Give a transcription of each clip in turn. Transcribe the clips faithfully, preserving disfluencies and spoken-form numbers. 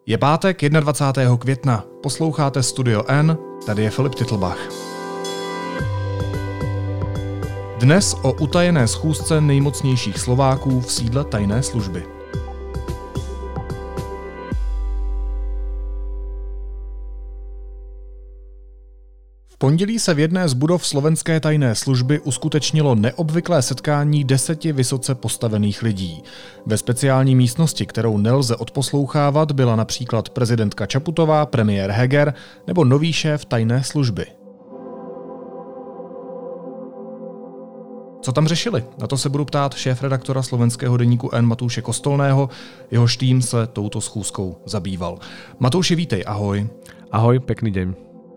Je pátek dvacátého prvního května, posloucháte Studio N, tady je Filip Titlbach. Dnes o utajené schůzce nejmocnějších Slováků v sídle tajné služby. V pondělí se v jedné z budov slovenské tajné služby uskutečnilo neobvyklé setkání deseti vysoce postavených lidí. Ve speciální místnosti, kterou nelze odposlouchávat, byla například prezidentka Čaputová, premiér Heger nebo nový šéf tajné služby. Co tam řešili? Na to se budu ptát šéfredaktora slovenského deníku N Matouše Kostolného, jehož tým se touto schůzkou zabýval. Matouši, vítej, ahoj. Ahoj, pekný deň.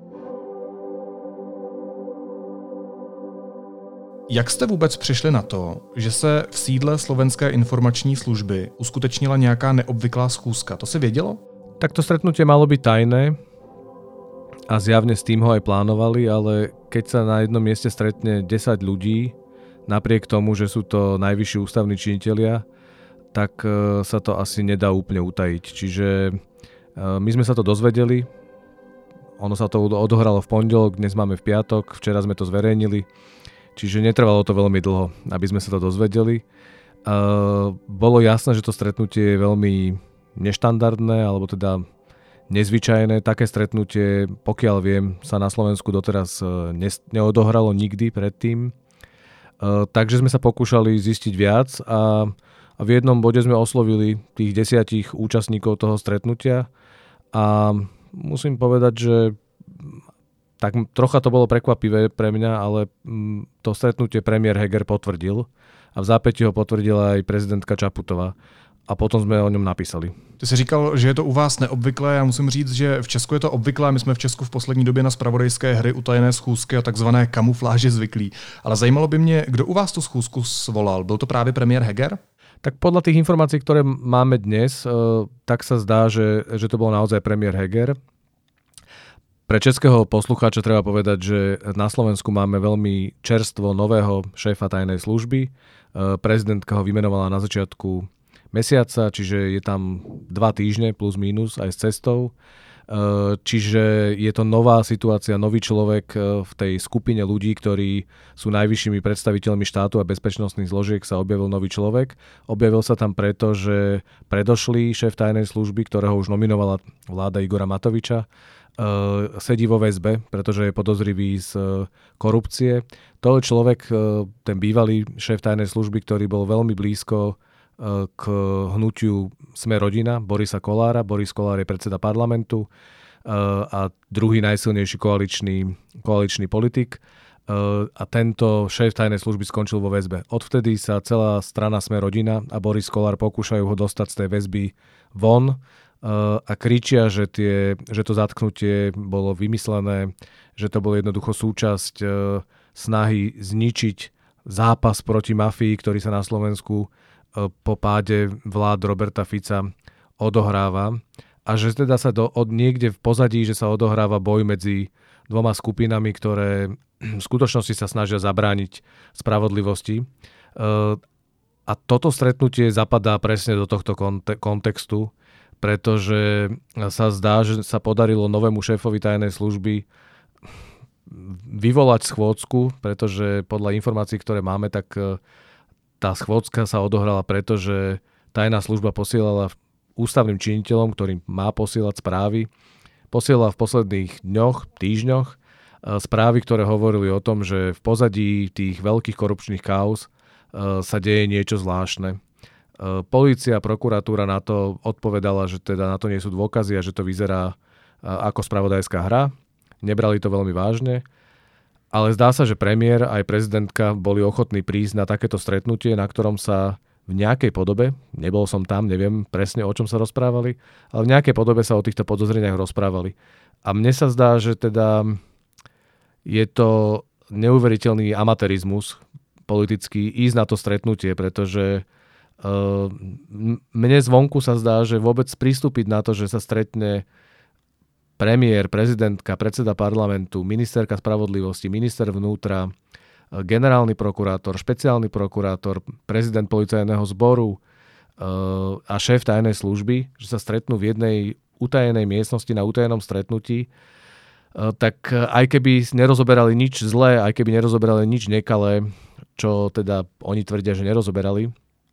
Jak jste vůbec přišli na to, že se v sídle slovenské informační služby uskutečnila nějaká neobvyklá schůzka? To se vědělo? Tak to stretnutie malo byť tajné a zjavne s tým ho aj plánovali, ale keď sa na jednom mieste stretne desať ľudí, napriek tomu, že sú to najvyšší ústavní činitelia, tak sa to asi nedá úplne utajiť. Čiže my sme sa to dozvedeli, ono sa to odohralo v pondelok, dnes máme v piatok, včera sme to zverejnili. Čiže netrvalo to veľmi dlho, aby sme sa to dozvedeli. Uh, bolo jasné, že to stretnutie je veľmi neštandardné, alebo teda nezvyčajné. Také stretnutie, pokiaľ viem, sa na Slovensku doteraz uh, ne- neodohralo nikdy predtým. Uh, takže sme sa pokúšali zistiť viac a, a v jednom bode sme oslovili tých desiatich účastníkov toho stretnutia a musím povedať, že tak trocha to bolo prekvapivé pre mňa, ale to stretnutie premiér Heger potvrdil a v zápäti ho potvrdila aj prezidentka Čaputová a potom sme o ňom napísali. Ty jsi říkal, že je to u vás neobvyklé, já musím říct, že v Česku je to obvyklé, my jsme v Česku v poslední době na zpravodajské hry, utajené schůzky a takzvané kamufláže zvyklí. Ale zajímalo by mě, kdo u vás tu schůzku svolal? Byl to právě premiér Heger? Tak podľa tých informácií, ktoré máme dnes, tak sa zdá, že, že to bol naozaj premiér Heger. Pre českého poslucháča treba povedať, že na Slovensku máme veľmi čerstvo nového šéfa tajnej služby. Prezidentka ho vymenovala na začiatku mesiaca, čiže je tam dva týždne plus mínus aj s cestou. Čiže je to nová situácia, nový človek v tej skupine ľudí, ktorí sú najvyššími predstaviteľmi štátu a bezpečnostných zložiek, sa objavil nový človek. Objavil sa tam preto, že predošlý šéf tajnej služby, ktorého už nominovala vláda Igora Matoviča, Uh, sedí vo väzbe, pretože je podozrivý z uh, korupcie. To je človek, uh, ten bývalý šéf tajnej služby, ktorý bol veľmi blízko uh, k hnutiu Sme rodina, Borisa Kollára. Boris Kollár je predseda parlamentu uh, a druhý najsilnejší koaličný, koaličný politik. Uh, a tento šéf tajnej služby skončil vo väzbe. Odvtedy sa celá strana Sme rodina a Boris Kollár pokúšajú ho dostať z tej väzby von, a kričia, že, tie, že to zatknutie bolo vymyslené, že to bolo jednoducho súčasť snahy zničiť zápas proti mafii, ktorý sa na Slovensku po páde vlád Roberta Fica odohráva a že teda sa do, od niekde v pozadí, že sa odohráva boj medzi dvoma skupinami, ktoré v skutočnosti sa snažia zabrániť spravodlivosti. A toto stretnutie zapadá presne do tohto konte- kontextu, pretože sa zdá, že sa podarilo novému šéfovi tajnej služby vyvolať schôdzku, pretože podľa informácií, ktoré máme, tak tá schôdzka sa odohrala preto, že tajná služba posielala ústavným činiteľom, ktorým má posielať správy, posielala v posledných dňoch, týždňoch správy, ktoré hovorili o tom, že v pozadí tých veľkých korupčných káuz sa deje niečo zvláštne. Polícia a prokuratúra na to odpovedala, že teda na to nie sú dôkazy a že to vyzerá ako spravodajská hra. Nebrali to veľmi vážne, ale zdá sa, že premiér aj prezidentka boli ochotní prísť na takéto stretnutie, na ktorom sa v nejakej podobe, nebol som tam, neviem presne o čom sa rozprávali, ale v nejakej podobe sa o týchto podozreniach rozprávali. A mne sa zdá, že teda je to neuveriteľný amatérizmus politický ísť na to stretnutie, pretože Uh, mne zvonku sa zdá, že vôbec pristúpiť na to, že sa stretne premiér, prezidentka, predseda parlamentu, ministerka spravodlivosti, minister vnútra, generálny prokurátor, špeciálny prokurátor, prezident policajného zboru uh, a šéf tajnej služby, že sa stretnú v jednej utajenej miestnosti na utajenom stretnutí, tak aj keby nerozoberali nič zlé, aj keby nerozoberali nič nekalé, čo teda oni tvrdia, že nerozoberali,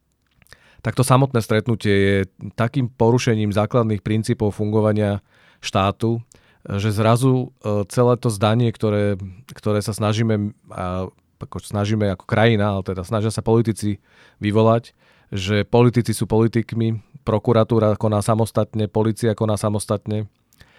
tak to samotné stretnutie je takým porušením základných princípov fungovania štátu, že zrazu celé to zdanie, ktoré, ktoré sa snažíme, ako snažíme ako krajina, ale teda snažia sa politici vyvolať, že politici sú politikmi, prokuratúra koná samostatne, polícia koná samostatne,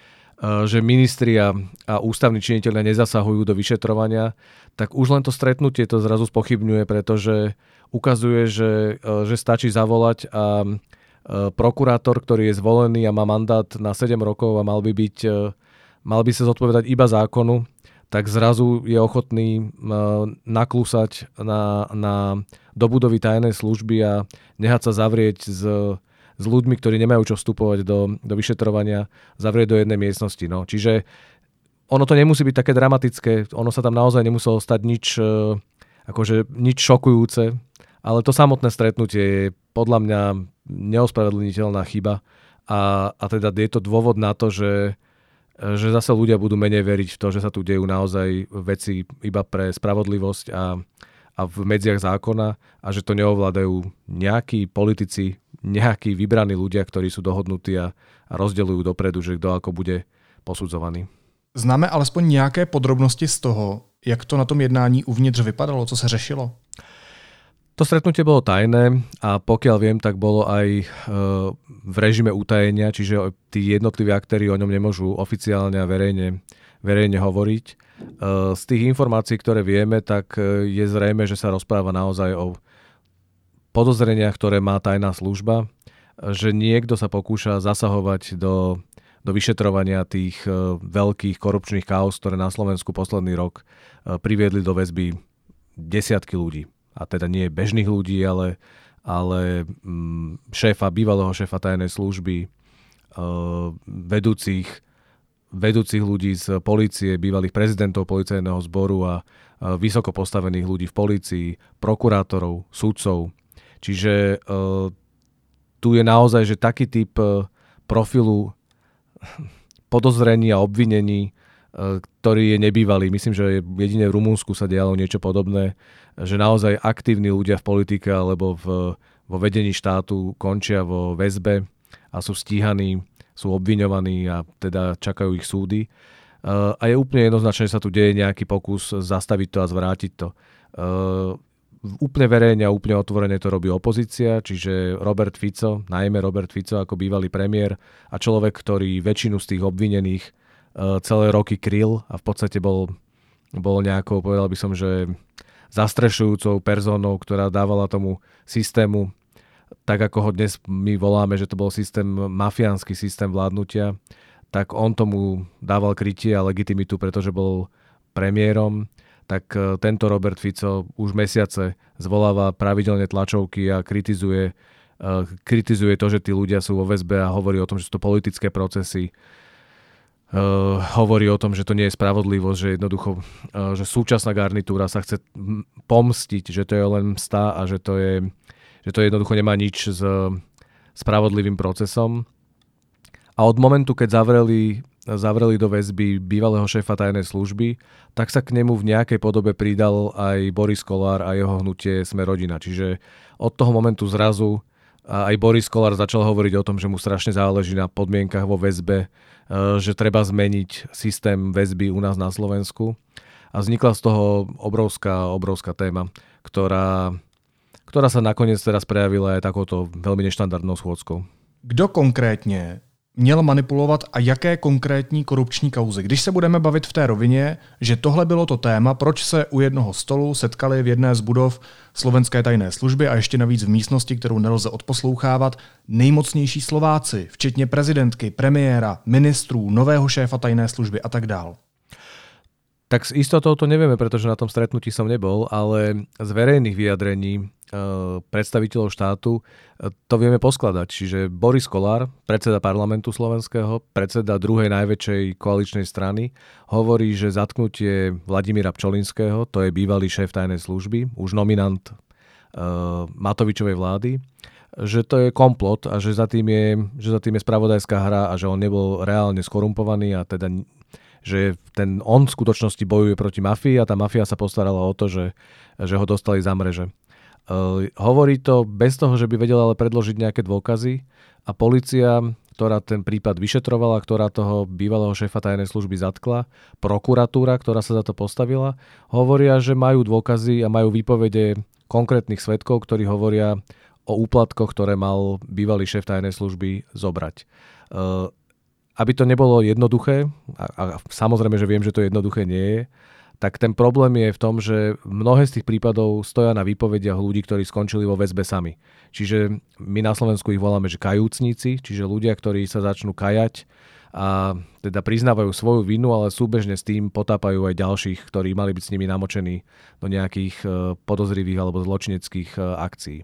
že ministri a, a ústavní činitelia nezasahujú do vyšetrovania, tak už len to stretnutie to zrazu spochybňuje, pretože ukazuje, že, že stačí zavolať a prokurátor, ktorý je zvolený a má mandát na sedem rokov a mal by byť mal by sa zodpovedať iba zákonu, tak zrazu je ochotný naklúsať na, na do budovy tajnej služby a nehať sa zavrieť s, s ľuďmi, ktorí nemajú čo vstupovať do, do vyšetrovania, zavrieť do jednej miestnosti. No. Čiže ono to nemusí byť také dramatické, ono sa tam naozaj nemuselo stať nič, akože nič šokujúce, ale to samotné stretnutie je podľa mňa neospravedlniteľná chyba a, a teda je to dôvod na to, že že zase ľudia budú menej veriť v to, že sa tu dejú naozaj veci iba pre spravodlivosť a, a v medziach zákona a že to neovládajú nejakí politici, nejakí vybraní ľudia, ktorí sú dohodnutí a, a rozdeľujú dopredu, že kto ako bude posudzovaný. Známe alespoň nějaké podrobnosti z toho, jak to na tom jednání uvnitř vypadalo, co se řešilo? To stretnutie bolo tajné a pokiaľ viem, tak bolo aj v režime utajenia, čiže tí jednotliví aktéri o ňom nemôžu oficiálne a verejne, verejne hovoriť. Z tých informácií, ktoré vieme, tak je zrejme, že sa rozpráva naozaj o podozreniach, ktoré má tajná služba, že niekto sa pokúša zasahovať do, do vyšetrovania tých veľkých korupčných káuz, ktoré na Slovensku posledný rok priviedli do väzby desiatky ľudí. A teda nie bežných ľudí, ale, ale šéfa, bývalého šéfa tajnej služby, vedúcich, vedúcich ľudí z polície, bývalých prezidentov policajného zboru a vysoko postavených ľudí v polícii, prokurátorov, sudcov. Čiže tu je naozaj, že taký typ profilu podozrení a obvinení, ktorý je nebývalý. Myslím, že jedine v Rumunsku sa dialo niečo podobné, že naozaj aktívni ľudia v politike alebo v, vo vedení štátu končia vo väzbe a sú stíhaní, sú obviňovaní a teda čakajú ich súdy. A je úplne jednoznačné, že sa tu deje nejaký pokus zastaviť to a zvrátiť to. Úplne verejne a úplne otvorene to robí opozícia, čiže Robert Fico, najmä Robert Fico ako bývalý premiér a človek, ktorý väčšinu z tých obvinených celé roky kryl a v podstate bol, bol nejakou, povedal by som, že zastrešujúcou personou, ktorá dávala tomu systému, tak ako ho dnes my voláme, že to bol systém, mafiánsky systém vládnutia, tak on tomu dával krytie a legitimitu, pretože bol premiérom. Tak tento Robert Fico už mesiace zvoláva pravidelne tlačovky a kritizuje, kritizuje to, že tí ľudia sú vo väzbe a hovorí o tom, že sú to politické procesy. Uh, hovorí o tom, že to nie je spravodlivosť, že jednoducho, uh, že súčasná garnitúra sa chce pomstiť, že to je len msta a že to je, že to jednoducho nemá nič s spravodlivým procesom. A od momentu, keď zavreli, zavreli do väzby bývalého šéfa tajnej služby, tak sa k nemu v nejakej podobe pridal aj Boris Kollár a jeho hnutie Sme rodina. Čiže od toho momentu zrazu aj Boris Kollár začal hovoriť o tom, že mu strašne záleží na podmienkach vo väzbe, že treba zmeniť systém väzby u nás na Slovensku. A vznikla z toho obrovská, obrovská téma, ktorá, ktorá sa nakoniec teraz prejavila aj takouto veľmi neštandardnou schôdzkou. Kdo konkrétně měl manipulovat a jaké konkrétní korupční kauzy? Když se budeme bavit v té rovině, že tohle bylo to téma, proč se u jednoho stolu setkali v jedné z budov slovenské tajné služby a ještě navíc v místnosti, kterou nelze odposlouchávat, nejmocnější Slováci, včetně prezidentky, premiéra, ministrů, nového šéfa tajné služby a tak dál. Tak s istotou to nevieme, pretože na tom stretnutí som nebol, ale z verejných vyjadrení e, predstaviteľov štátu e, to vieme poskladať. Čiže Boris Kollár, predseda parlamentu slovenského, predseda druhej najväčšej koaličnej strany, hovorí, že zatknutie Vladimíra Pčolinského, to je bývalý šéf tajnej služby, už nominant e, Matovičovej vlády, že to je komplot a že za tým je, že za tým je spravodajská hra a že on nebol reálne skorumpovaný a teda že ten on v skutočnosti bojuje proti mafii a tá mafia sa postarala o to, že, že ho dostali za mreže. Uh, hovorí to bez toho, že by vedela ale predložiť nejaké dôkazy a polícia, ktorá ten prípad vyšetrovala, ktorá toho bývalého šéfa tajnej služby zatkla, prokuratúra, ktorá sa za to postavila, hovoria, že majú dôkazy a majú výpovede konkrétnych svedkov, ktorí hovoria o úplatkoch, ktoré mal bývalý šéf tajnej služby zobrať. Uh, aby to nebolo jednoduché, a, a samozrejme, že viem, že to jednoduché nie je, tak ten problém je v tom, že mnohé z tých prípadov stoja na výpovediach ľudí, ktorí skončili vo väzbe sami. Čiže my na Slovensku ich voláme, že kajúcníci, čiže ľudia, ktorí sa začnú kajať a teda priznávajú svoju vinu, ale súbežne s tým potápajú aj ďalších, ktorí mali byť s nimi namočení do nejakých podozrivých alebo zločineckých akcií.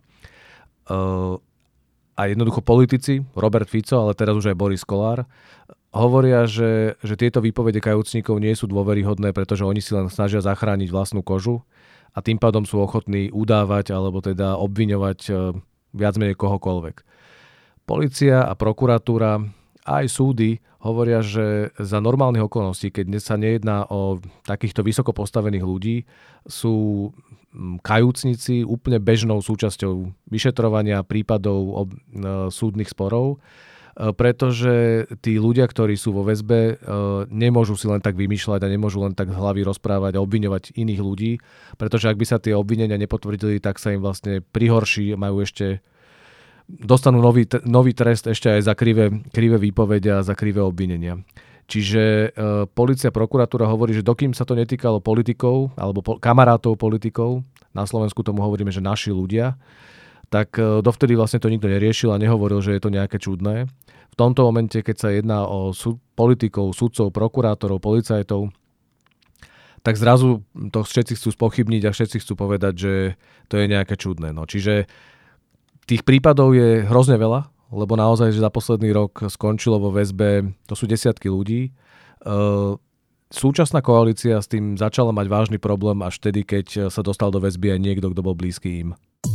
A jednoducho politici, Robert Fico, ale teraz už aj Boris Kollár, hovoria, že, že tieto výpovede kajúcnikov nie sú dôveryhodné, pretože oni si len snažia zachrániť vlastnú kožu a tým pádom sú ochotní udávať alebo teda obviňovať viac menej kohokoľvek. Polícia a prokuratúra a aj súdy hovoria, že za normálnych okolností, keď sa nejedná o takýchto vysoko postavených ľudí, sú kajúcnici úplne bežnou súčasťou vyšetrovania prípadov ob, e, súdnych sporov, e, pretože tí ľudia, ktorí sú vo väzbe, e, nemôžu si len tak vymýšľať a nemôžu len tak z hlavy rozprávať a obviňovať iných ľudí, pretože ak by sa tie obvinenia nepotvrdili, tak sa im vlastne prihorší, majú ešte dostanú nový, nový trest ešte aj za krivé, krivé výpovede a za krivé obvinenia. Čiže e, polícia, prokuratúra hovorí, že dokým sa to netýkalo politikov alebo po, kamarátov politikov, na Slovensku tomu hovoríme, že naši ľudia, tak e, dovtedy vlastne to nikto neriešil a nehovoril, že je to nejaké čudné. V tomto momente, keď sa jedná o súd, politikov, sudcov, prokurátorov, policajtov, tak zrazu to všetci chcú spochybniť a všetci chcú povedať, že to je nejaké čudné. No, čiže tých prípadov je hrozne veľa, lebo naozaj, že za posledný rok skončilo vo väzbe, to sú desiatky ľudí. Súčasná koalícia s tým začala mať vážny problém až vtedy, keď sa dostal do väzby aj niekto, kto bol blízky im.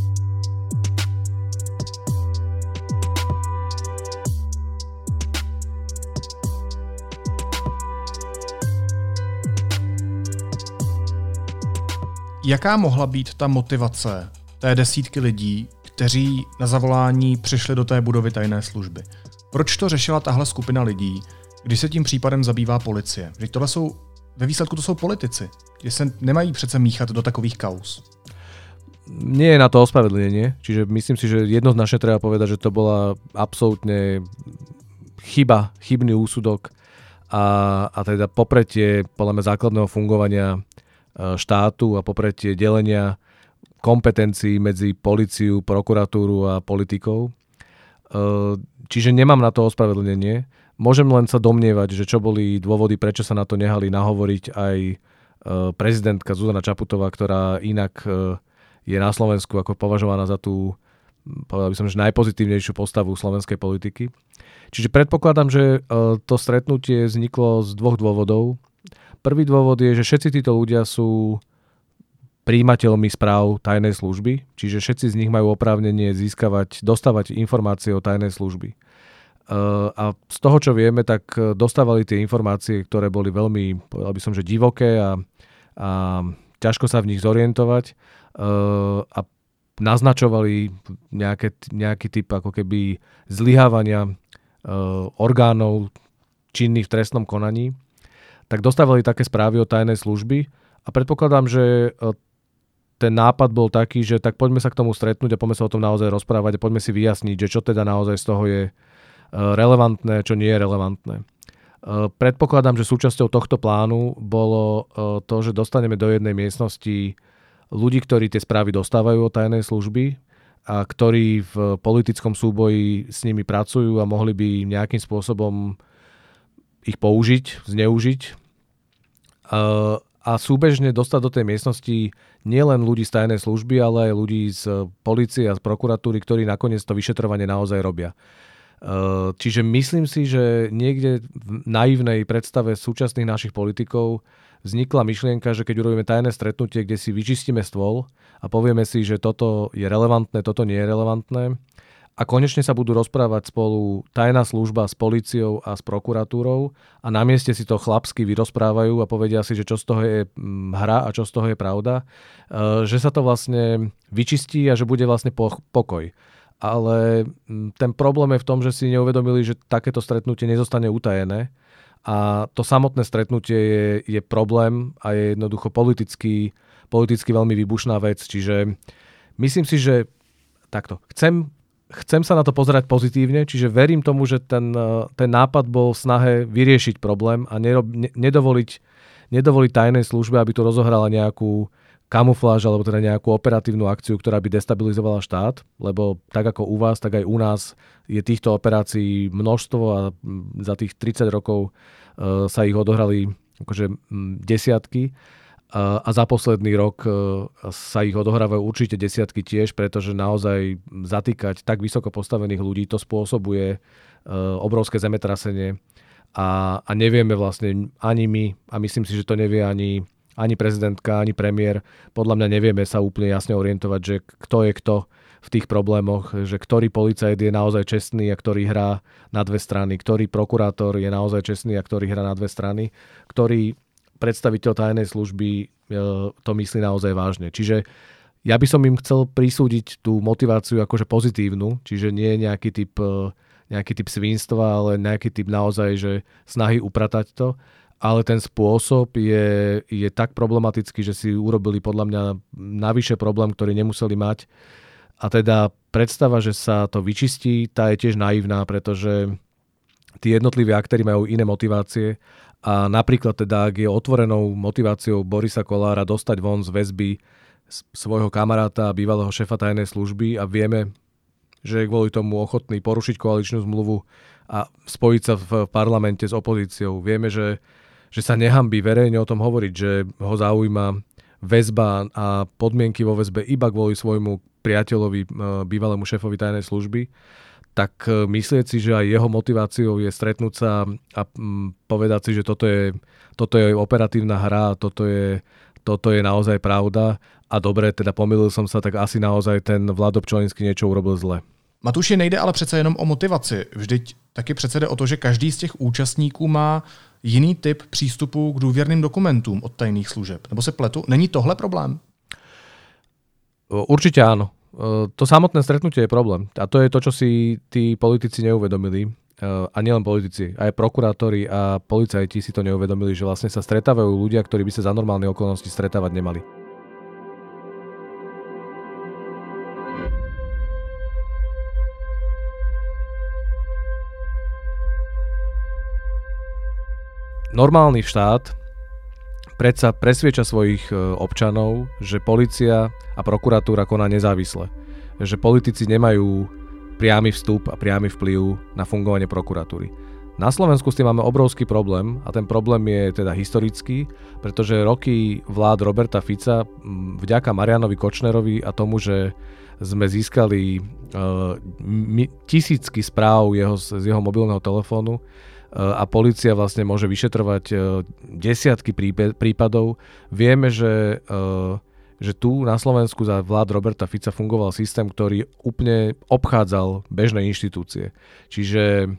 Jaká mohla být ta motivace té desítky lidí, kteří na zavolání přišli do té budovy tajné služby? Proč to řešila tahle skupina lidí, když se tím případem zabývá policie? Že tohle jsou, ve výsledku to jsou politici, že se nemají přece míchat do takových kauz. Nie je na to ospravedlnenie, čiže myslím si, že jednoznačne treba povedať, že to bola absolútne chyba, chybný úsudok a, a teda popretie podľa mňa základného fungovania štátu a popretie delenia kompetencií medzi políciu, prokuratúru a politikov. Čiže nemám na to ospravedlnenie. Môžem len sa domnievať, že čo boli dôvody, prečo sa na to nehali nahovoriť aj prezidentka Zuzana Čaputová, ktorá inak je na Slovensku ako považovaná za tú, povedal by som, že najpozitívnejšiu postavu slovenskej politiky. Čiže predpokladám, že to stretnutie vzniklo z dvoch dôvodov. Prvý dôvod je, že všetci títo ľudia sú prijímateľmi správ tajnej služby, čiže všetci z nich majú oprávnenie získavať, dostávať informácie o tajnej služby. A z toho, čo vieme, tak dostávali tie informácie, ktoré boli veľmi, povedal by som, že divoké a, a ťažko sa v nich zorientovať a naznačovali nejaké, nejaký typ ako keby zlyhávania orgánov činných v trestnom konaní, tak dostávali také správy o tajnej služby a predpokladám, že ten nápad bol taký, že tak poďme sa k tomu stretnúť a poďme sa o tom naozaj rozprávať a poďme si vyjasniť, že čo teda naozaj z toho je relevantné, čo nie je relevantné. Predpokladám, že súčasťou tohto plánu bolo to, že dostaneme do jednej miestnosti ľudí, ktorí tie správy dostávajú od tajnej služby a ktorí v politickom súboji s nimi pracujú a mohli by nejakým spôsobom ich použiť, zneužiť. A súbežne dostať do tej miestnosti nielen ľudí z tajnej služby, ale aj ľudí z polície a z prokuratúry, ktorí nakoniec to vyšetrovanie naozaj robia. Čiže myslím si, že niekde v naivnej predstave súčasných našich politikov vznikla myšlienka, že keď urobíme tajné stretnutie, kde si vyčistíme stôl a povieme si, že toto je relevantné, toto nie je relevantné a konečne sa budú rozprávať spolu tajná služba s políciou a s prokuratúrou a na mieste si to chlapsky vyrozprávajú a povedia si, že čo z toho je hra a čo z toho je pravda, že sa to vlastne vyčistí a že bude vlastne pokoj. Ale ten problém je v tom, že si neuvedomili, že takéto stretnutie nezostane utajené a to samotné stretnutie je, je problém a je jednoducho politicky, politicky veľmi výbušná vec. Čiže myslím si, že takto, chcem Chcem sa na to pozerať pozitívne, čiže verím tomu, že ten, ten nápad bol v snahe vyriešiť problém a nerob, ne, nedovoliť, nedovoliť tajnej službe, aby tu rozohrala nejakú kamufláž alebo teda nejakú operatívnu akciu, ktorá by destabilizovala štát, lebo tak ako u vás, tak aj u nás je týchto operácií množstvo a za tých tridsať rokov uh, sa ich odohrali akože desiatky. A za posledný rok sa ich odohrávajú určite desiatky tiež, pretože naozaj zatýkať tak vysoko postavených ľudí, to spôsobuje obrovské zemetrasenie a, a nevieme vlastne ani my, a myslím si, že to nevie ani, ani prezidentka, ani premiér, podľa mňa nevieme sa úplne jasne orientovať, že kto je kto v tých problémoch, že ktorý policajt je naozaj čestný a ktorý hrá na dve strany, ktorý prokurátor je naozaj čestný a ktorý hrá na dve strany, ktorý predstaviteľ tajnej služby to myslí naozaj vážne. Čiže ja by som im chcel prisúdiť tú motiváciu akože pozitívnu, čiže nie nejaký typ, nejaký typ svinstva, ale nejaký typ naozaj, že snahy upratať to, ale ten spôsob je, je tak problematický, že si urobili podľa mňa navyše problém, ktorý nemuseli mať. A teda predstava, že sa to vyčistí, tá je tiež naivná, pretože tí jednotliví aktéri majú iné motivácie. A napríklad teda, ak je otvorenou motiváciou Borisa Kollára dostať von z väzby svojho kamaráta a bývalého šéfa tajnej služby a vieme, že je kvôli tomu ochotný porušiť koaličnú zmluvu a spojiť sa v parlamente s opozíciou. Vieme, že, že sa nehanbí verejne o tom hovoriť, že ho zaujíma väzba a podmienky vo väzbe iba kvôli svojmu priateľovi, bývalému šéfovi tajnej služby, tak myslieť si, že aj jeho motiváciou je stretnúť sa a povedať si, že toto je, toto je operatívna hra, toto je, toto je naozaj pravda a dobre, teda pomýlil som sa, tak asi naozaj ten Vlado Pčolinský niečo urobil zle. Matuši, nejde ale přece jenom o motivaci. Vždyť taky přece jde o to, že každý z těch účastníků má jiný typ přístupu k důvěrným dokumentům od tajných služeb. Nebo se pletu? Není tohle problém? Určite áno. To samotné stretnutie je problém. A to je to, čo si tí politici neuvedomili. A nielen politici, aj prokurátori a policajti si to neuvedomili, že vlastne sa stretávajú ľudia, ktorí by sa za normálne okolnosti stretávať nemali. Normálny štát predsa presvieča svojich občanov, že polícia a prokuratúra koná nezávisle. Že politici nemajú priamy vstup a priamy vplyv na fungovanie prokuratúry. Na Slovensku s tým máme obrovský problém a ten problém je teda historický, pretože roky vlád Roberta Fica vďaka Marianovi Kočnerovi a tomu, že sme získali uh, mi, tisícky správ jeho, z jeho mobilného telefónu, a polícia vlastne môže vyšetrovať desiatky prípadov. Vieme, že, že tu na Slovensku za vlád Roberta Fica fungoval systém, ktorý úplne obchádzal bežné inštitúcie. Čiže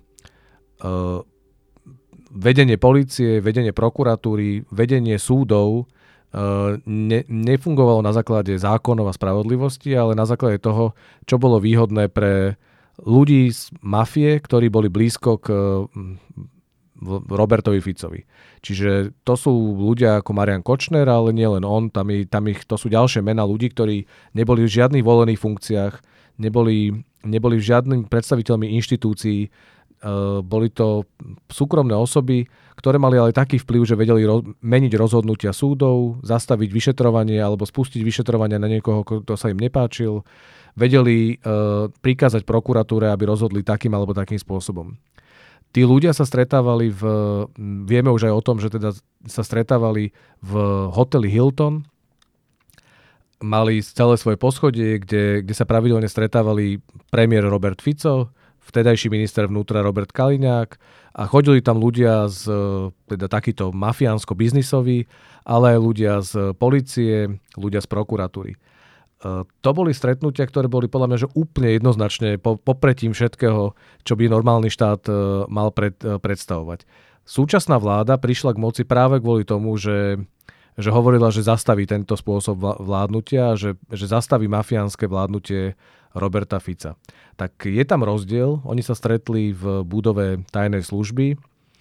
vedenie polície, vedenie prokuratúry, vedenie súdov ne, nefungovalo na základe zákonov a spravodlivosti, ale na základe toho, čo bolo výhodné pre ľudí z mafie, ktorí boli blízko k Robertovi Ficovi. Čiže to sú ľudia ako Marian Kočner, ale nie len on, tam, je, tam ich, to sú ďalšie mená ľudí, ktorí neboli v žiadnych volených funkciách, neboli, neboli v žiadnym predstaviteľmi inštitúcií, uh, boli to súkromné osoby, ktoré mali ale taký vplyv, že vedeli roz, meniť rozhodnutia súdov, zastaviť vyšetrovanie alebo spustiť vyšetrovanie na niekoho, kto sa im nepáčil, vedeli uh, prikázať prokuratúre, aby rozhodli takým alebo takým spôsobom. Tí ľudia sa stretávali v, vieme už aj o tom, že teda sa stretávali v hoteli Hilton, mali celé svoje poschodie, kde, kde sa pravidelne stretávali premiér Robert Fico, vtedajší minister vnútra Robert Kaliňák a chodili tam ľudia z teda takýto mafiánsko-biznisoví, ale aj ľudia z polície, ľudia z prokuratúry. To boli stretnutia, ktoré boli podľa mňa že úplne jednoznačne popretím všetkého, čo by normálny štát mal pred, predstavovať. Súčasná vláda prišla k moci práve kvôli tomu, že, že hovorila, že zastaví tento spôsob vládnutia, že, že zastaví mafiánske vládnutie Roberta Fica. Tak je tam rozdiel. Oni sa stretli v budove tajnej služby.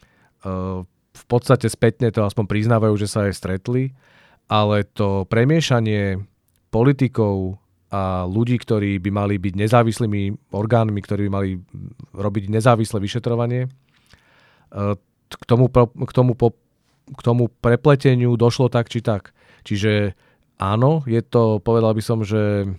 V podstate spätne to aspoň priznávajú, že sa aj stretli, ale to premiešanie politikov a ľudí, ktorí by mali byť nezávislými orgánmi, ktorí by mali robiť nezávislé vyšetrovanie, k tomu, k tomu, k tomu prepleteniu došlo tak či tak. Čiže áno, je to, povedal by som, že,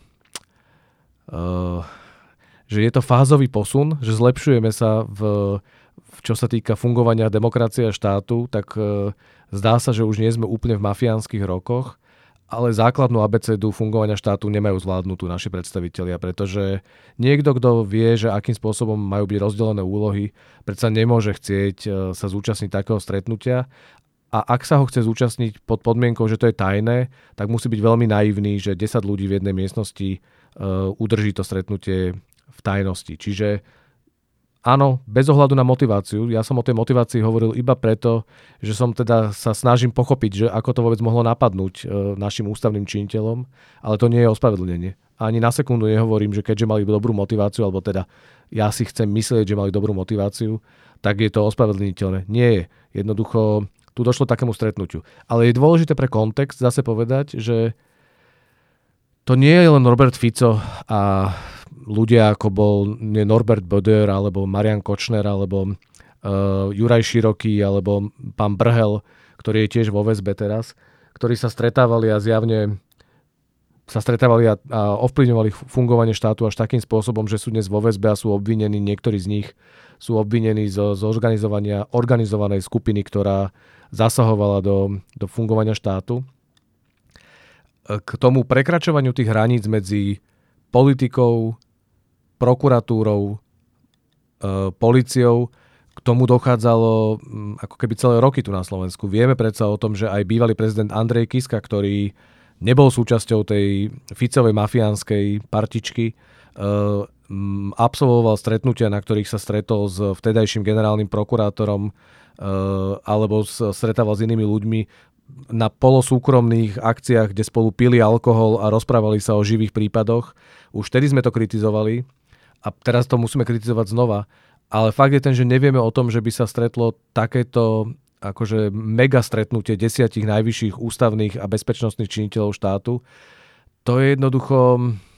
uh, že je to fázový posun, že zlepšujeme sa v, v čo sa týka fungovania demokracie a štátu, tak uh, zdá sa, že už nie sme úplne v mafiánskych rokoch, ale základnú abecedu fungovania štátu nemajú zvládnutú naši predstavitelia, pretože niekto, kto vie, že akým spôsobom majú byť rozdelené úlohy, predsa nemôže chcieť sa zúčastniť takého stretnutia. A ak sa ho chce zúčastniť pod podmienkou, že to je tajné, tak musí byť veľmi naivný, že desať ľudí v jednej miestnosti uh, udrží to stretnutie v tajnosti. Čiže áno, bez ohľadu na motiváciu. Ja som o tej motivácii hovoril iba preto, že som teda sa snažím pochopiť, že ako to vôbec mohlo napadnúť e, našim ústavným činiteľom, ale to nie je ospravedlnenie. Ani na sekundu nehovorím, že keďže mali dobrú motiváciu, alebo teda ja si chcem myslieť, že mali dobrú motiváciu, tak je to ospravedlniteľné. Nie je. Jednoducho tu došlo k takému stretnutiu. Ale je dôležité pre kontext zase povedať, že to nie je len Robert Fico a ľudia ako bol nie Norbert Böder, alebo Marian Kočner, alebo uh, Juraj Široký, alebo pán Brhel, ktorý je tiež vo väzbe teraz, ktorí sa stretávali a zjavne sa stretávali a, a ovplyvňovali fungovanie štátu až takým spôsobom, že sú dnes vo väzbe a sú obvinení, niektorí z nich sú obvinení zo, zo organizovania organizovanej skupiny, ktorá zasahovala do, do fungovania štátu. K tomu prekračovaniu tých hraníc medzi politikou, prokuratúrou, e, políciou, k tomu dochádzalo m, ako keby celé roky tu na Slovensku. Vieme predsa o tom, že aj bývalý prezident Andrej Kiska, ktorý nebol súčasťou tej Ficovej mafiánskej partičky, e, m, absolvoval stretnutia, na ktorých sa stretol s vtedajším generálnym prokurátorom e, alebo s, stretával s inými ľuďmi na polosúkromných akciách, kde spolu pili alkohol a rozprávali sa o živých prípadoch. Už vtedy sme to kritizovali a teraz to musíme kritizovať znova. Ale fakt je ten, že nevieme o tom, že by sa stretlo takéto akože mega stretnutie desiatich najvyšších ústavných a bezpečnostných činiteľov štátu. To je jednoducho...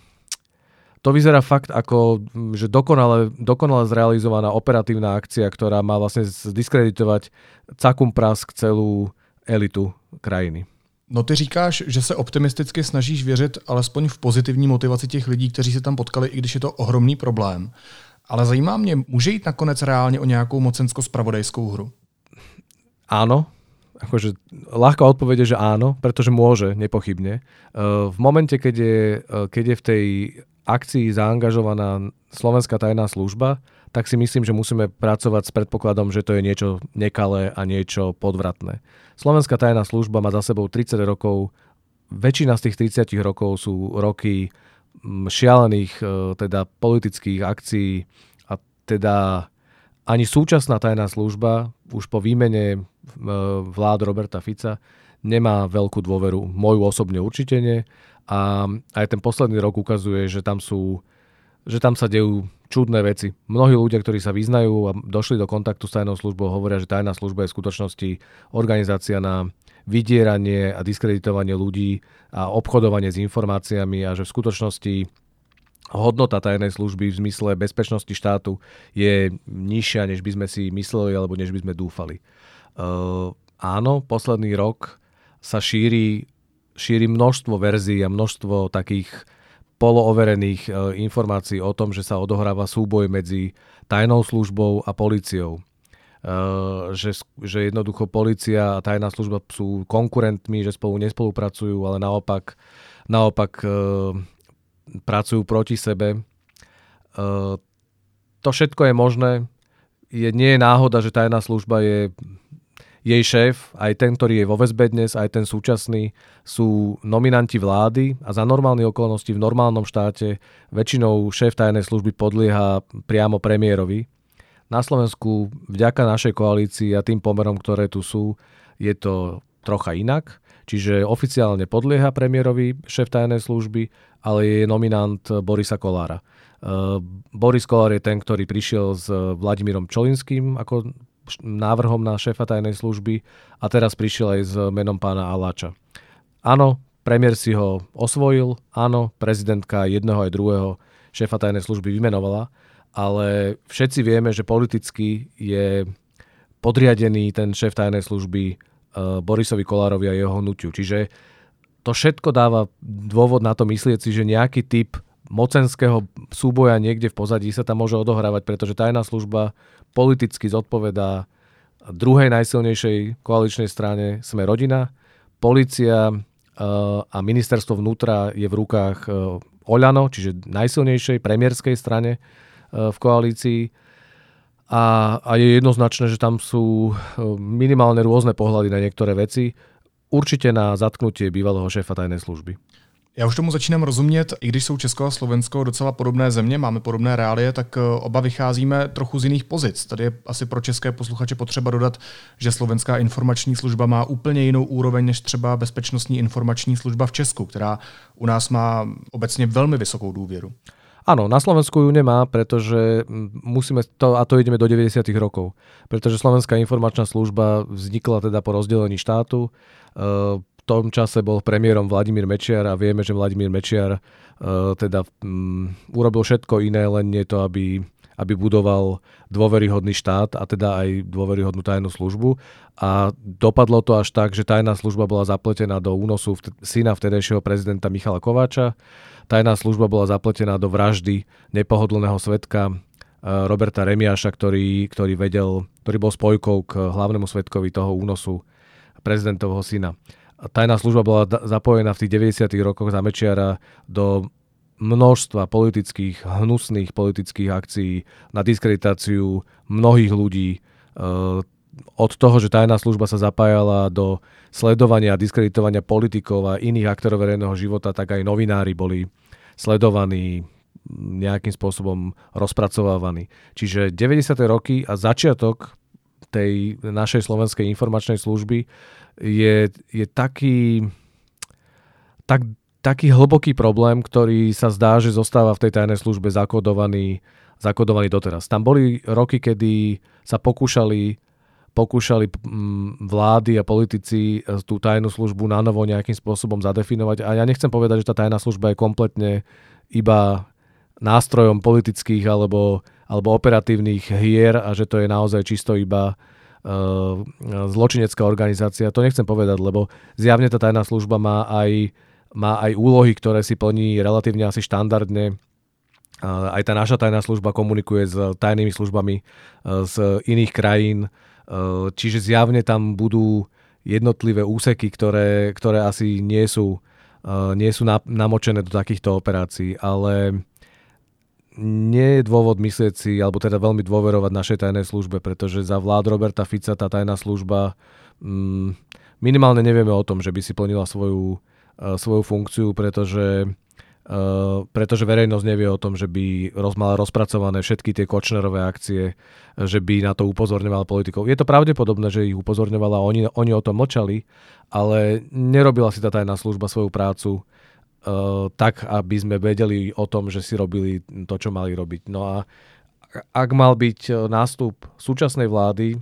To vyzerá fakt ako, že dokonale, dokonale zrealizovaná operatívna akcia, ktorá má vlastne zdiskreditovať cakum prask celú elitu krajiny. No ty říkáš, že se optimisticky snažíš věřit alespoň v pozitivní motivaci těch lidí, kteří se tam potkali, i když je to ohromný problém. Ale zajímá mě, může jít nakonec reálně o nějakou mocensko-spravodajskou hru? Áno. Akože ľahká odpoveď je, že áno, pretože môže, nepochybne. V momente, keď je, keď je v tej akcii zaangažovaná Slovenská tajná služba, tak si myslím, že musíme pracovať s predpokladom, že to je niečo nekalé a niečo podvratné. Slovenská tajná služba má za sebou tridsať rokov, väčšina z tých tridsať rokov sú roky šialených teda politických akcií a teda ani súčasná tajná služba už po výmene vlád Roberta Fica nemá veľkú dôveru. Moju osobne určite nie. A aj ten posledný rok ukazuje, že tam sú, že tam sa dejú čudné veci. Mnohí ľudia, ktorí sa vyznajú a došli do kontaktu s tajnou službou, hovoria, že tajná služba je v skutočnosti organizácia na vydieranie a diskreditovanie ľudí a obchodovanie s informáciami a že v skutočnosti hodnota tajnej služby v zmysle bezpečnosti štátu je nižšia, než by sme si mysleli alebo než by sme dúfali. Uh, áno, posledný rok sa šíri, šíri množstvo verzií a množstvo takých polooverených uh, informácií o tom, že sa odohráva súboj medzi tajnou službou a políciou. Uh, že, že jednoducho polícia a tajná služba sú konkurentmi, že spolu nespolupracujú, ale naopak, naopak uh, pracujú proti sebe. Uh, to všetko je možné. Je, nie je náhoda, že tajná služba je jej šéf, aj ten, ktorý je vo väzbe dnes, aj ten súčasný, sú nominanti vlády a za normálne okolnosti v normálnom štáte väčšinou šéf tajnej služby podlieha priamo premiérovi. Na Slovensku vďaka našej koalícii a tým pomerom, ktoré tu sú, je to trocha inak. Čiže oficiálne podlieha premiérovi šéf tajnej služby, ale je nominant Borisa Kollára. Boris Kollár je ten, ktorý prišiel s Vladimírom Čolinským ako návrhom na šéfa tajnej služby a teraz prišiel aj s menom pána Aláča. Áno, premiér si ho osvojil, áno, prezidentka jedného aj druhého šéfa tajnej služby vymenovala, ale všetci vieme, že politicky je podriadený ten šéf tajnej služby Borisovi Kollárovi a jeho hnutiu. Čiže to všetko dáva dôvod na to myslieť si, že nejaký typ mocenského súboja niekde v pozadí sa tam môže odohrávať, pretože tajná služba politicky zodpovedá druhej najsilnejšej koaličnej strane Sme rodina. Polícia a ministerstvo vnútra je v rukách Oľano, čiže najsilnejšej premiérskej strane v koalícii. A, a je jednoznačné, že tam sú minimálne rôzne pohľady na niektoré veci. Určite na zatknutie bývalého šéfa tajnej služby. Já už tomu začínám rozumět, i když jsou Česko a Slovensko docela podobné země, máme podobné reálie, tak oba vycházíme trochu z jiných pozic. Tady je asi pro české posluchače potřeba dodat, že Slovenská informační služba má úplně jinou úroveň než třeba Bezpečnostní informační služba v Česku, která u nás má obecně velmi vysokou důvěru. Áno, na Slovensku ju nemá, pretože musíme to, a to ideme do deväťdesiatych rokov, pretože Slovenská informačná služba vznikla teda po rozdelení štátu. V tom čase bol premiérom Vladimír Mečiar a vieme, že Vladimír Mečiar teda um, urobil všetko iné, len nie to, aby, aby budoval dôveryhodný štát a teda aj dôveryhodnú tajnú službu. A dopadlo to až tak, že tajná služba bola zapletená do únosu vt- syna vtedajšieho prezidenta Michala Kováča. Tajná služba bola zapletená do vraždy nepohodlného svedka Roberta Remiáša, ktorý, ktorý vedel, ktorý bol spojkou k hlavnému svedkovi toho únosu prezidentovho syna. Tajná služba bola zapojená v tých deväťdesiatych rokoch za Mečiara do množstva politických, hnusných politických akcií na diskreditáciu mnohých ľudí. Od toho, že tajná služba sa zapájala do sledovania a diskreditovania politikov a iných aktorov verejného života, tak aj novinári boli sledovaní, nejakým spôsobom rozpracovávaní. Čiže deväťdesiate roky a začiatok tej našej slovenskej informačnej služby je, je taký, tak, taký hlboký problém, ktorý sa zdá, že zostáva v tej tajnej službe zakodovaný, zakodovaný doteraz. Tam boli roky, kedy sa pokúšali pokúšali vlády a politici tú tajnú službu na novo nejakým spôsobom zadefinovať. A ja nechcem povedať, že tá tajná služba je kompletne iba nástrojom politických alebo, alebo operatívnych hier a že to je naozaj čisto iba uh, zločinecká organizácia. To nechcem povedať, lebo zjavne tá tajná služba má aj, má aj úlohy, ktoré si plní relatívne asi štandardne. Uh, aj tá naša tajná služba komunikuje s tajnými službami uh, z iných krajín. Čiže zjavne tam budú jednotlivé úseky, ktoré, ktoré asi nie sú, nie sú namočené do takýchto operácií, ale nie je dôvod myslieť si, alebo teda veľmi dôverovať našej tajnej službe, pretože za vlád Roberta Fica tá tajná služba minimálne nevieme o tom, že by si plnila svoju, svoju funkciu, pretože Uh, pretože verejnosť nevie o tom, že by roz, mala rozpracované všetky tie Kočnerové akcie, že by na to upozorňovala politikov. Je to pravdepodobné, že ich upozorňovala, oni, oni o tom mlčali, ale nerobila si tá tajná služba svoju prácu uh, tak, aby sme vedeli o tom, že si robili to, čo mali robiť. No a ak mal byť nástup súčasnej vlády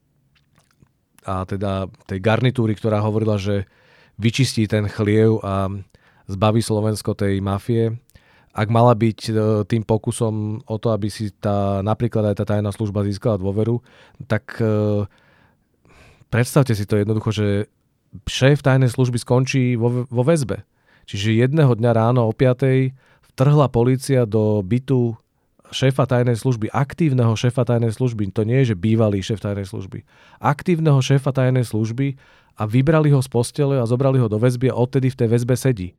a teda tej garnitúry, ktorá hovorila, že vyčistí ten chliev a zbaví Slovensko tej mafie. Ak mala byť tým pokusom o to, aby si tá, napríklad aj tá tajná služba získala dôveru, tak e, predstavte si to jednoducho, že šéf tajnej služby skončí vo, vo väzbe. Čiže jedného dňa ráno o piatej vtrhla polícia do bytu šéfa tajnej služby, aktívneho šéfa tajnej služby. To nie je, že bývalý šéf tajnej služby. Aktívneho šéfa tajnej služby a vybrali ho z postele a zobrali ho do väzby a odtedy v tej väzbe sedí.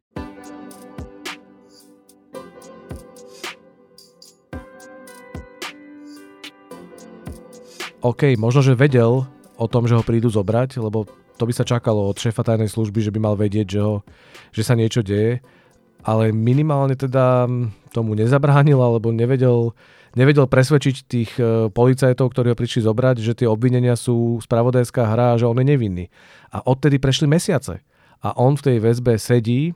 OK, možno, že vedel, o tom, že ho prídu zobrať, lebo to by sa čakalo od šéfa tajnej služby, že by mal vedieť, že, ho, že sa niečo deje, ale minimálne teda tomu nezabránil, alebo nevedel, nevedel presvedčiť tých policajtov, ktorí ho prišli zobrať, že tie obvinenia sú spravodajská hra a že on je nevinný. A odtedy prešli mesiace. A on v tej väzbe sedí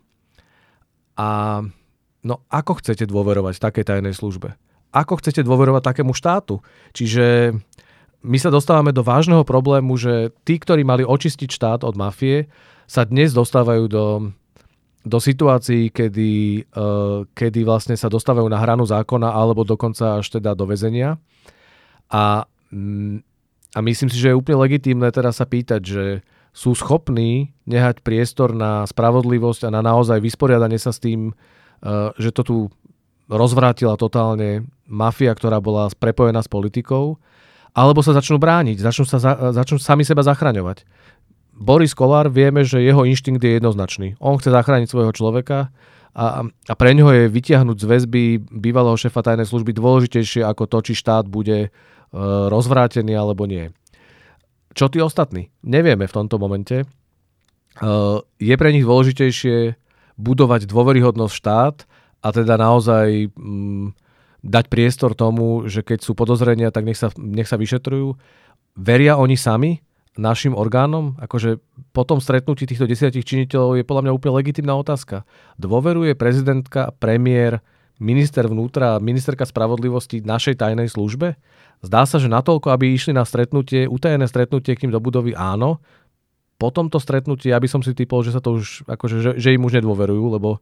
a no ako chcete dôverovať takej tajnej službe? Ako chcete dôverovať takému štátu? Čiže my sa dostávame do vážneho problému, že tí, ktorí mali očistiť štát od mafie, sa dnes dostávajú do, do situácií, kedy, uh, kedy vlastne sa dostávajú na hranu zákona alebo dokonca až teda do väzenia. A, a myslím si, že je úplne legitímne teraz sa pýtať, že sú schopní nehať priestor na spravodlivosť a na naozaj vysporiadanie sa s tým, uh, že to tu rozvrátila totálne mafia, ktorá bola prepojená s politikou, alebo sa začnú brániť, začnú, sa za, začnú sami seba zachraňovať. Boris Kollár, vieme, že jeho inštinkt je jednoznačný. On chce zachrániť svojho človeka a, a pre ňoho je vytiahnuť z väzby bývalého šéfa tajnej služby dôležitejšie ako to, či štát bude e, rozvrátený alebo nie. Čo tí ostatní? Nevieme v tomto momente. E, je pre nich dôležitejšie budovať dôveryhodnosť štát a teda naozaj Mm, dať priestor tomu, že keď sú podozrenia, tak nech sa, nech sa vyšetrujú. Veria oni sami našim orgánom? Akože po tom stretnutí týchto desiatich činiteľov je podľa mňa úplne legitímna otázka. Dôveruje prezidentka, premiér, minister vnútra, ministerka spravodlivosti našej tajnej službe? Zdá sa, že natoľko, aby išli na stretnutie, utajené stretnutie k ním do budovy, áno. Po tomto stretnutí, ja by som si typol, že sa to už, akože, že, že im už nedôverujú, lebo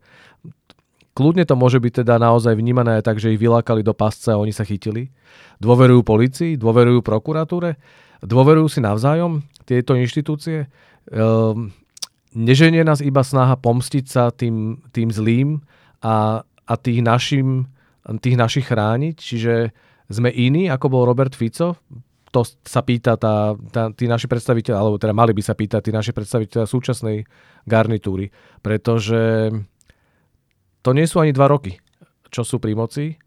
kľudne to môže byť teda naozaj vnímané tak, že ich vylákali do pasce a oni sa chytili. Dôverujú polícii, dôverujú prokuratúre, dôverujú si navzájom tieto inštitúcie. Ehm, neženie nás iba snaha pomstiť sa tým, tým zlým a, a tých, našim, tých našich chrániť. Čiže sme iní, ako bol Robert Fico. To sa pýta tá, tá, tí naši predstaviteľi, alebo teda mali by sa pýtať tí naši predstaviteľi súčasnej garnitúry. Pretože to nie sú ani dva roky, čo sú pri moci.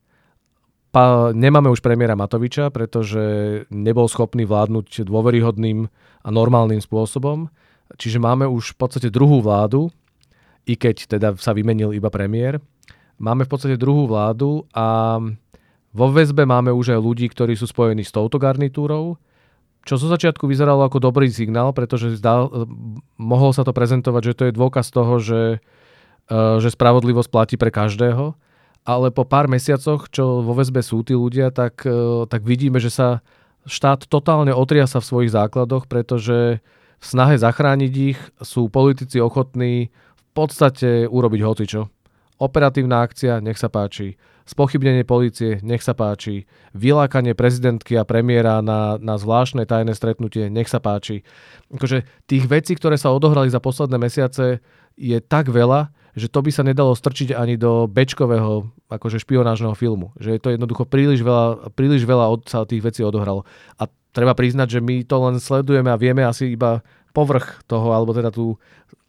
Pa, nemáme už premiéra Matoviča, pretože nebol schopný vládnuť dôveryhodným a normálnym spôsobom. Čiže máme už v podstate druhú vládu, i keď teda sa vymenil iba premiér. Máme v podstate druhú vládu a vo väzbe máme už aj ľudí, ktorí sú spojení s touto garnitúrou, čo zo začiatku vyzeralo ako dobrý signál, pretože zdá, mohol sa to prezentovať, že to je dôkaz toho, že že spravodlivosť platí pre každého, ale po pár mesiacoch, čo vo väzbe sú tí ľudia, tak, tak vidíme, že sa štát totálne otriasa v svojich základoch, pretože v snahe zachrániť ich sú politici ochotní v podstate urobiť hocičo. Operatívna akcia, nech sa páči. Spochybnenie polície, nech sa páči. Vylákanie prezidentky a premiéra na, na zvláštne tajné stretnutie, nech sa páči. Akože tých vecí, ktoré sa odohrali za posledné mesiace, je tak veľa, že to by sa nedalo strčiť ani do bečkového akože špionážneho filmu. Že je to jednoducho príliš veľa, príliš veľa od, sa tých vecí odohralo. A treba priznať, že my to len sledujeme a vieme asi iba povrch toho, alebo teda tú,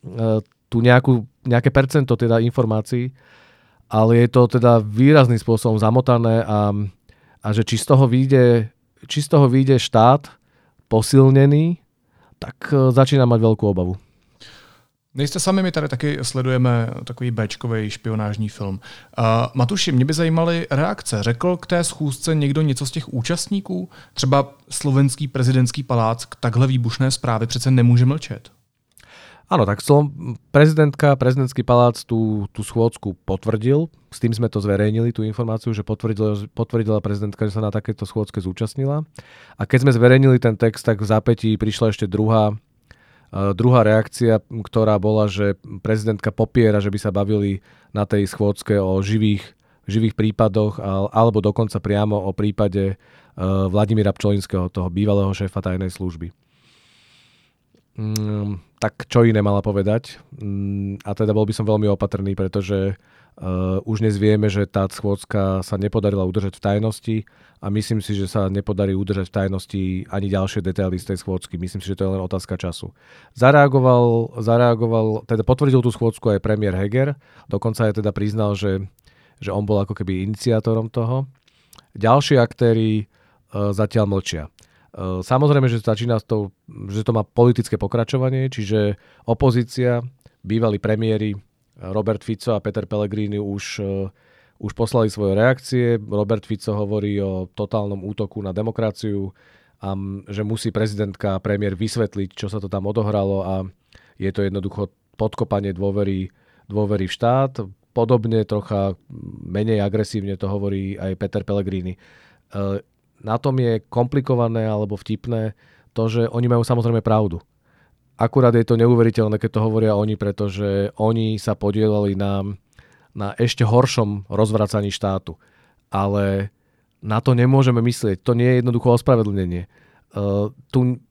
tú nejakú, nejaké percento teda informácií, ale je to teda výrazným spôsobom zamotané a, a že či z toho vyjde, či z toho vyjde štát posilnený, tak začína mať veľkú obavu. Nejste sami, my tady taky sledujeme takový béčkový špionážní film. Uh, Matuši, mě by zajímaly reakce. Řekl k té schůzce někdo něco z těch účastníků? Třeba slovenský prezidentský palác k takhle výbušné zprávy přece nemůže mlčet. Áno, tak prezidentka, prezidentský palác tú, tú schôdzku potvrdil. S tým sme to zverejnili, tú informáciu, že potvrdila, potvrdila prezidentka, že sa na takéto schôdzke zúčastnila. A keď sme zverejnili ten text, tak v zápätí prišla ešte druhá Uh, druhá reakcia, ktorá bola, že prezidentka popiera, že by sa bavili na tej schôdzke o živých, živých prípadoch al, alebo dokonca priamo o prípade uh, Vladimíra Pčolinského, toho bývalého šéfa tajnej služby. Mm, tak čo iné mala povedať? Mm, a teda bol by som veľmi opatrný, pretože uh, už dnes vieme, že tá schôdzka sa nepodarila udržať v tajnosti a myslím si, že sa nepodarí udržať v tajnosti ani ďalšie detaily z tej schôdzky. Myslím si, že to je len otázka času. Zareagoval, zareagoval, teda potvrdil tú schôdzku aj premiér Heger, dokonca aj teda priznal, že, že on bol ako keby iniciátorom toho. Ďalší aktéri uh, zatiaľ mlčia. Samozrejme, že začína to, že to má politické pokračovanie, čiže opozícia, bývalí premiéri Robert Fico a Peter Pellegrini už, už poslali svoje reakcie. Robert Fico hovorí o totálnom útoku na demokraciu a že musí prezidentka a premiér vysvetliť, čo sa to tam odohralo a je to jednoducho podkopanie dôvery, dôvery v štát. Podobne, trocha menej agresívne to hovorí aj Peter Pellegrini. Na tom je komplikované alebo vtipné to, že oni majú samozrejme pravdu. Akurát je to neuveriteľné, keď to hovoria oni, pretože oni sa podielali na, na ešte horšom rozvracaní štátu. Ale na to nemôžeme myslieť. To nie je jednoducho ospravedlnenie. Uh, tu,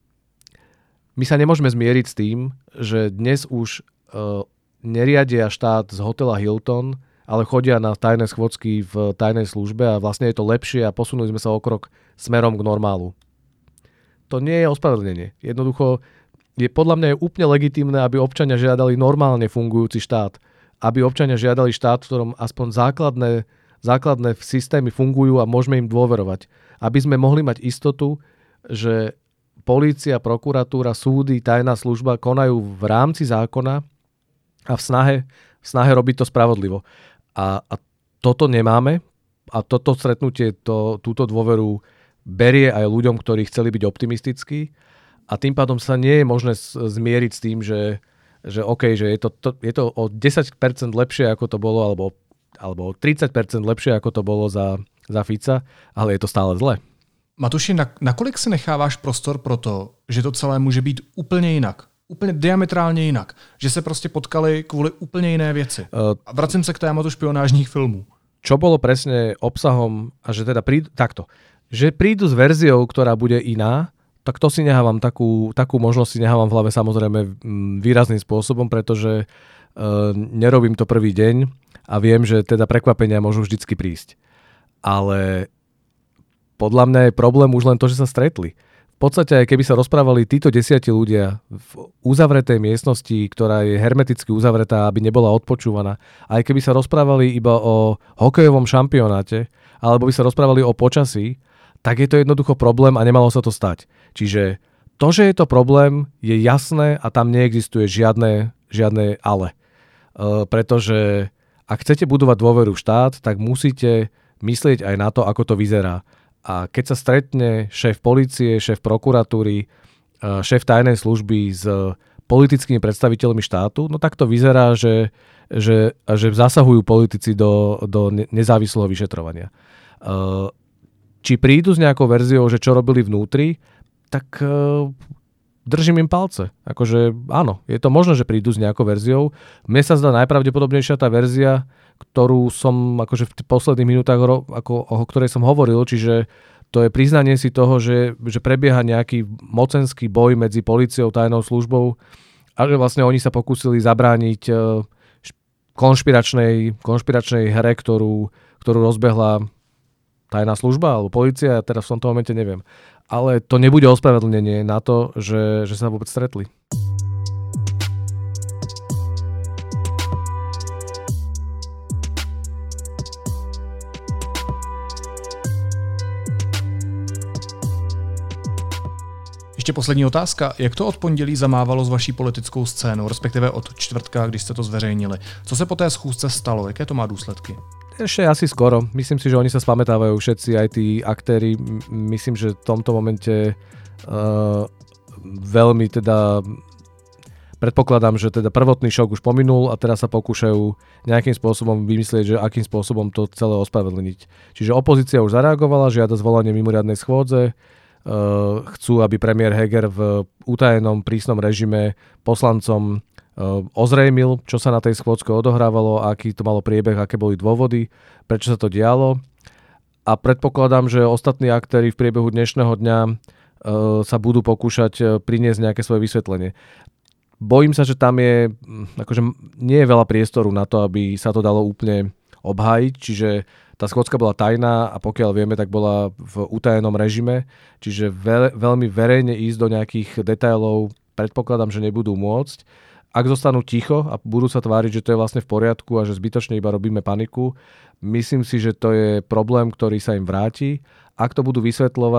my sa nemôžeme zmieriť s tým, že dnes už uh, neriadia štát z hotela Hilton, ale chodia na tajné schôdzky v tajnej službe a vlastne je to lepšie a posunuli sme sa o krok smerom k normálu. To nie je ospravedlnenie. Jednoducho je podľa mňa je úplne legitímne, aby občania žiadali normálne fungujúci štát. Aby občania žiadali štát, v ktorom aspoň základné, základné systémy fungujú a môžeme im dôverovať. Aby sme mohli mať istotu, že polícia, prokuratúra, súdy, tajná služba konajú v rámci zákona a v snahe, v snahe robiť to spravodlivo. A, a toto nemáme a toto stretnutie, to, túto dôveru berie aj ľuďom, ktorí chceli byť optimistickí a tým pádom sa nie je možné zmieriť s tým, že, že OK, že je to, to, je to o desať percent lepšie, ako to bolo, alebo, alebo o tridsať percent lepšie, ako to bolo za, za Fica, ale je to stále zle. Matuši, na, nakolik si necháváš prostor pro to, že to celé může být úplně jinak? Úplně diametrálně jinak. Že se prostě potkali kvůli úplně jiné věci. Uh, a vracím se k tématu špionážních filmů. Čo bolo presne obsahom, a že teda prídu, takto, že prídu s verziou, ktorá bude iná, tak to si nehávam, takú, takú možnosť si nehávam v hlave samozrejme výrazným spôsobom, pretože uh, nerobím to prvý deň a viem, že teda prekvapenia môžu vždycky prísť. Ale podľa mňa je problém už len to, že sa stretli. V podstate, aj keby sa rozprávali títo desiatí ľudia v uzavretej miestnosti, ktorá je hermeticky uzavretá, aby nebola odpočúvaná, aj keby sa rozprávali iba o hokejovom šampionáte, alebo by sa rozprávali o počasí, tak je to jednoducho problém a nemalo sa to stať. Čiže to, že je to problém, je jasné a tam neexistuje žiadne, žiadne ale. E, pretože ak chcete budovať dôveru v štát, tak musíte myslieť aj na to, ako to vyzerá. A keď sa stretne šéf polície, šéf prokuratúry, šéf tajnej služby s politickými predstaviteľmi štátu, no tak to vyzerá, že, že, že zasahujú politici do, do nezávislého vyšetrovania. Či prídu s nejakou verziou, že čo robili vnútri, tak držím im palce. Akože áno, je to možné, že prídu s nejakou verziou. Mne sa zdá najpravdepodobnejšia tá verzia, ktorú som akože v posledných minútach, ako, o ktorej som hovoril, čiže to je priznanie si toho, že, že prebieha nejaký mocenský boj medzi políciou, tajnou službou a že vlastne oni sa pokúsili zabrániť konšpiračnej, konšpiračnej hre, ktorú, ktorú rozbehla tajná služba alebo polícia, ja teraz v tomto momente neviem. Ale to nebude ospravedlnenie na to, že, že sa vôbec stretli. Ještě poslední otázka. Jak to od pondělí zamávalo s vaší politickou scénou, respektive od čtvrtka, když jste to zveřejnili? Co se po té schůzce stalo? Jaké to má důsledky? Ešte asi skoro. Myslím si, že oni sa spamätávajú všetci, aj tí aktéri. Myslím, že v tomto momente uh, veľmi teda predpokladám, že teda prvotný šok už pominul a teraz sa pokúšajú nejakým spôsobom vymyslieť, že akým spôsobom to celé ospravedlniť. Čiže opozícia už zareagovala, žiada zvolanie mimoriadnej schôdze. Uh, chcú, aby premiér Heger v utajenom prísnom režime poslancom ozrejmil, čo sa na tej schôdzke odohrávalo, aký to malo priebeh, aké boli dôvody, prečo sa to dialo. A predpokladám, že ostatní aktéri v priebehu dnešného dňa e, sa budú pokúšať priniesť nejaké svoje vysvetlenie. Bojím sa, že tam je, akože nie je veľa priestoru na to, aby sa to dalo úplne obhájiť, čiže tá schôdzka bola tajná a pokiaľ vieme, tak bola v utajenom režime, čiže veľ, veľmi verejne ísť do nejakých detailov predpokladám, že nebudú môcť. Ak zostanú ticho a budú sa tváriť, že to je vlastne v poriadku a že zbytočne iba robíme paniku, myslím si, že to je problém, ktorý sa im vráti. Ak to budú vysvetľovať,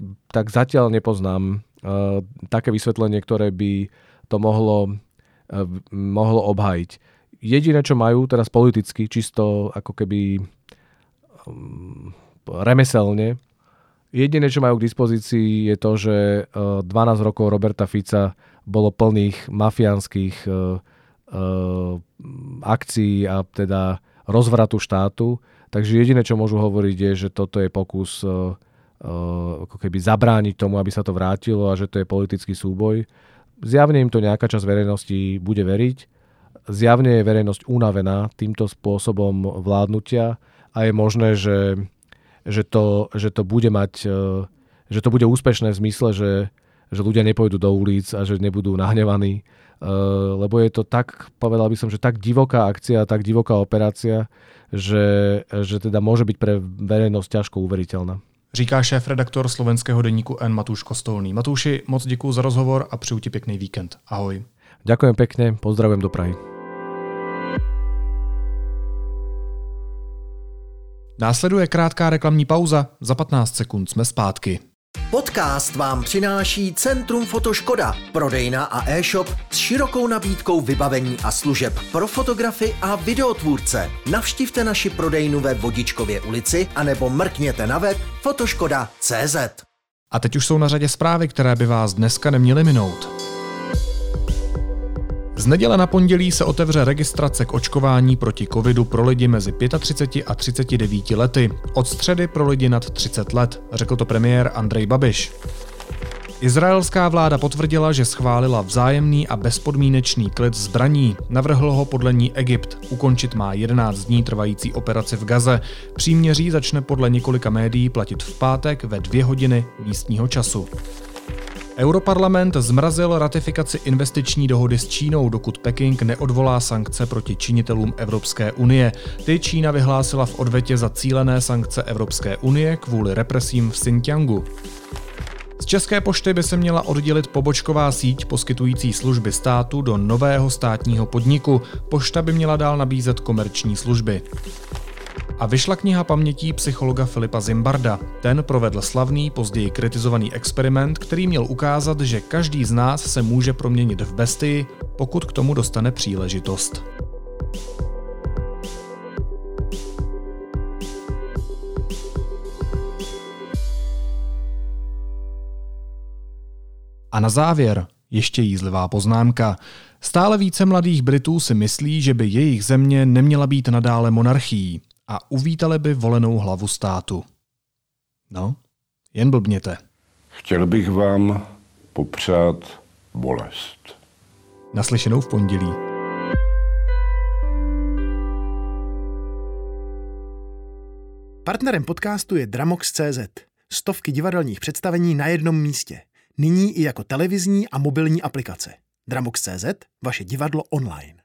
tak zatiaľ nepoznám uh, také vysvetlenie, ktoré by to mohlo, uh, mohlo obhájiť. Jediné, čo majú teraz politicky, čisto ako keby um, remeselne, jediné, čo majú k dispozícii, je to, že uh, dvanásť rokov Roberta Fica bolo plných mafiánskych uh, uh, akcií a teda rozvratu štátu. Takže jediné, čo môžu hovoriť, je, že toto je pokus uh, uh, ako keby zabrániť tomu, aby sa to vrátilo a že to je politický súboj. Zjavne im to nejaká časť verejnosti bude veriť. Zjavne je verejnosť unavená týmto spôsobom vládnutia a je možné, že, že, to, že to bude mať, uh, že to bude úspešné v zmysle, že, že ľudia nepôjdu do ulic a že nebudú nahnevaní. Uh, lebo je to tak, povedal by som, že tak divoká akcia, tak divoká operácia, že, že teda môže byť pre verejnosť ťažko uveriteľná. Říká šéf-redaktor slovenského deníku N Matúš Kostolný. Matúši, moc děkuji za rozhovor a přeju ti pěkný víkend. Ahoj. Ďakujem pekne, pozdravujem do Prahy. Následuje krátká reklamní pauza, za patnáct sekund jsme zpátky. Podcast vám přináší Centrum Fotoškoda, prodejna a e-shop s širokou nabídkou vybavení a služeb pro fotografy a videotvůrce. Navštivte naši prodejnu ve Vodičkově ulici anebo mrkněte na web fotoškoda tečka cé zet. A teď už jsou na řadě zprávy, které by vás dneska neměly minout. Z neděle na pondělí se otevře registrace k očkování proti covidu pro lidi mezi třiceti pěti a třiceti devíti lety. Od středy pro lidi nad třicet let, řekl to premiér Andrej Babiš. Izraelská vláda potvrdila, že schválila vzájemný a bezpodmínečný klid zbraní. Navrhl ho podle ní Egypt. Ukončit má jedenáct dní trvající operaci v Gaze. Příměří začne podle několika médií platit v pátek ve dvě hodiny místního času. Europarlament zmrazil ratifikaci investiční dohody s Čínou, dokud Peking neodvolá sankce proti činitelům Evropské unie. Ty Čína vyhlásila v odvetě za cílené sankce Evropské unie kvůli represím v Xinjiangu. Z České pošty by se měla oddělit pobočková síť poskytující služby státu do nového státního podniku. Pošta by měla dál nabízet komerční služby. A vyšla kniha pamětí psychologa Filipa Zimbarda. Ten provedl slavný, později kritizovaný experiment, který měl ukázat, že každý z nás se může proměnit v bestii, pokud k tomu dostane příležitost. A na závěr ještě jízlivá poznámka. Stále více mladých Britů si myslí, že by jejich země neměla být nadále monarchií a uvítali by volenou hlavu státu. No, jen blbněte. Chtěl bych vám popřát bolest. Naslyšenou v pondělí. Partnerem podcastu je Dramox tečka cé zet. Stovky divadelních představení na jednom místě. Nyní i jako televizní a mobilní aplikace. Dramox tečka cé zet, vaše divadlo online.